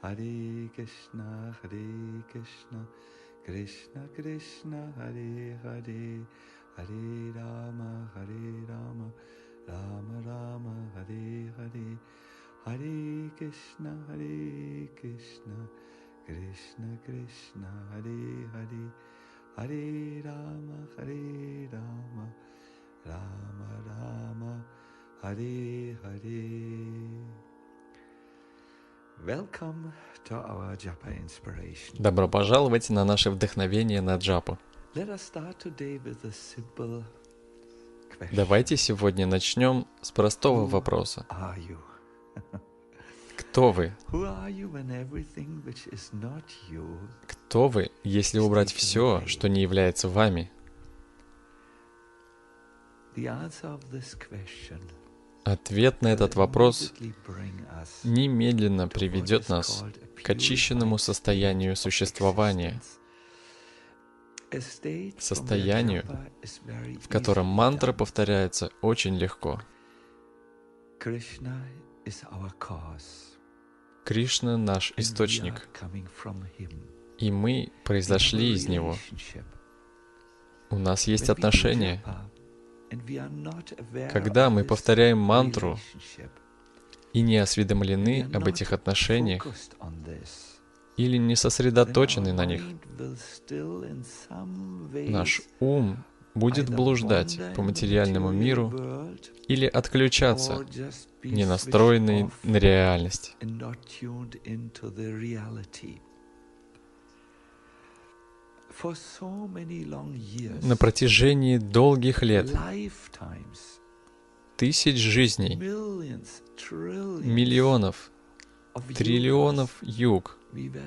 Hare Krishna, Krishna Krishna, Hare Hare, Hare Rama, Rama Rama, Hare Hare, Hare Krishna, Krishna Krishna, Hare Hare, Hare Rama, Rama Rama, Hare Hare. Welcome to our Japa inspiration. Добро пожаловать на наше вдохновение на джапу. Let us start today with a simple question. Давайте сегодня начнем с простого вопроса. Who are you? Кто вы? Who are you when everything which is not you? Кто вы, если убрать все, что не является вами? The answer of this question Ответ на этот вопрос immediately bring us немедленно приведет нас к очищенному состоянию существования, a state from состоянию, where japa is very в котором easily мантра done. повторяется очень легко. Krishna is our cause. Кришна — наш And we are источник, coming from him. и мы произошли из него. У нас есть отношения. Когда мы повторяем мантру и не осведомлены об этих отношениях или не сосредоточены на них, наш ум будет блуждать по материальному миру или отключаться, не настроенный на реальность. На протяжении долгих лет, тысяч жизней, миллионов, триллионов юг,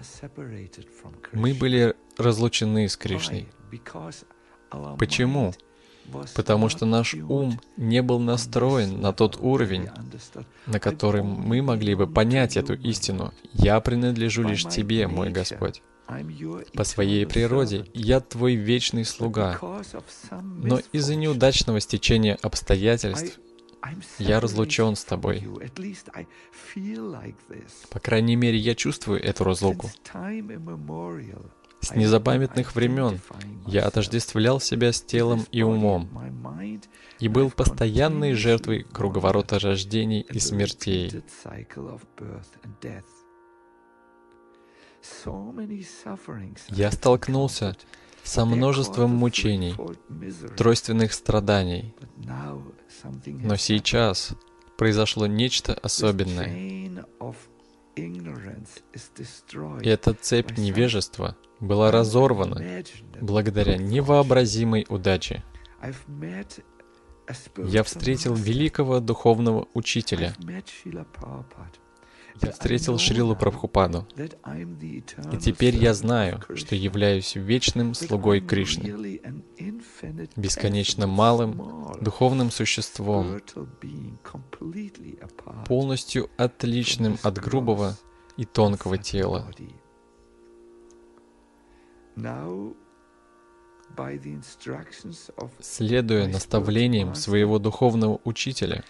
мы были разлучены с Кришной. Почему? Потому что наш ум не был настроен на тот уровень, на котором мы могли бы понять эту истину. «Я принадлежу лишь Тебе, мой Господь. По своей природе я Твой вечный слуга, но из-за неудачного стечения обстоятельств я разлучен с Тобой. По крайней мере, я чувствую эту разлуку. С незапамятных времен я отождествлял себя с телом и умом и был постоянной жертвой круговорота рождений и смертей. Я столкнулся со множеством мучений, тройственных страданий, но сейчас произошло нечто особенное. И эта цепь невежества была разорвана благодаря невообразимой удаче. Я встретил великого духовного учителя. Я встретил Шрилу Прабхупаду. И теперь я знаю, что являюсь вечным слугой Кришны, бесконечно малым духовным существом, полностью отличным от грубого и тонкого тела. Следуя наставлениям своего духовного учителя,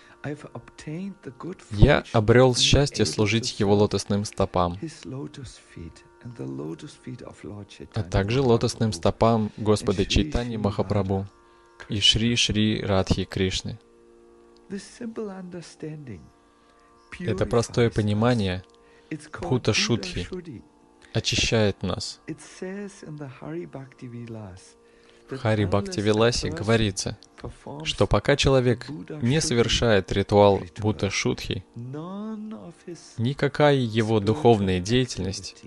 я обрел счастье служить его лотосным стопам, а также лотосным стопам Господа Чайтаньи Махапрабху и Шри Радхи Кришны. Это простое понимание Бхута Шудхи очищает нас. В Хари Бхакти Виласе говорится, что пока человек не совершает ритуал Бхута Шудхи, никакая его духовная деятельность,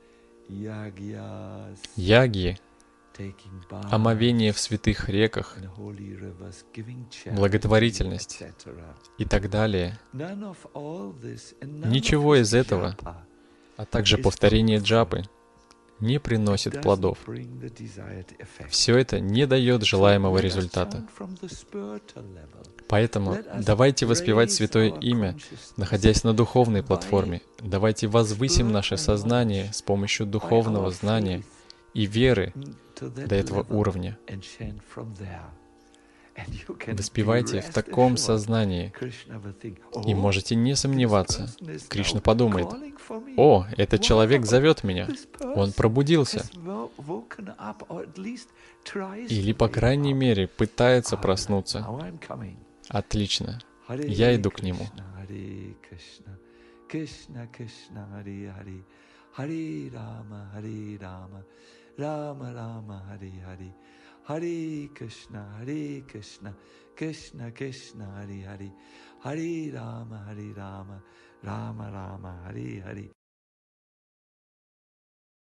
ягьи, омовение в святых реках, благотворительность и так далее, ничего из этого, а также повторение джапы, не приносит плодов. Все это не дает желаемого результата. Поэтому давайте воспевать Святое Имя, находясь на духовной платформе. Давайте возвысим наше сознание с помощью духовного знания и веры до этого уровня. Вы спеваете в таком сознании и можете не сомневаться. Кришна подумает: «О, этот человек зовет меня, он пробудился». Или, по крайней мере, пытается проснуться. Отлично. Я иду к нему. Krishna Krishna Hare Hare Hare Rama Rama Rama Hare Hare Hare Krishna Krishna Krishna Hare Hare Hare Rama Rama Rama Hare Hare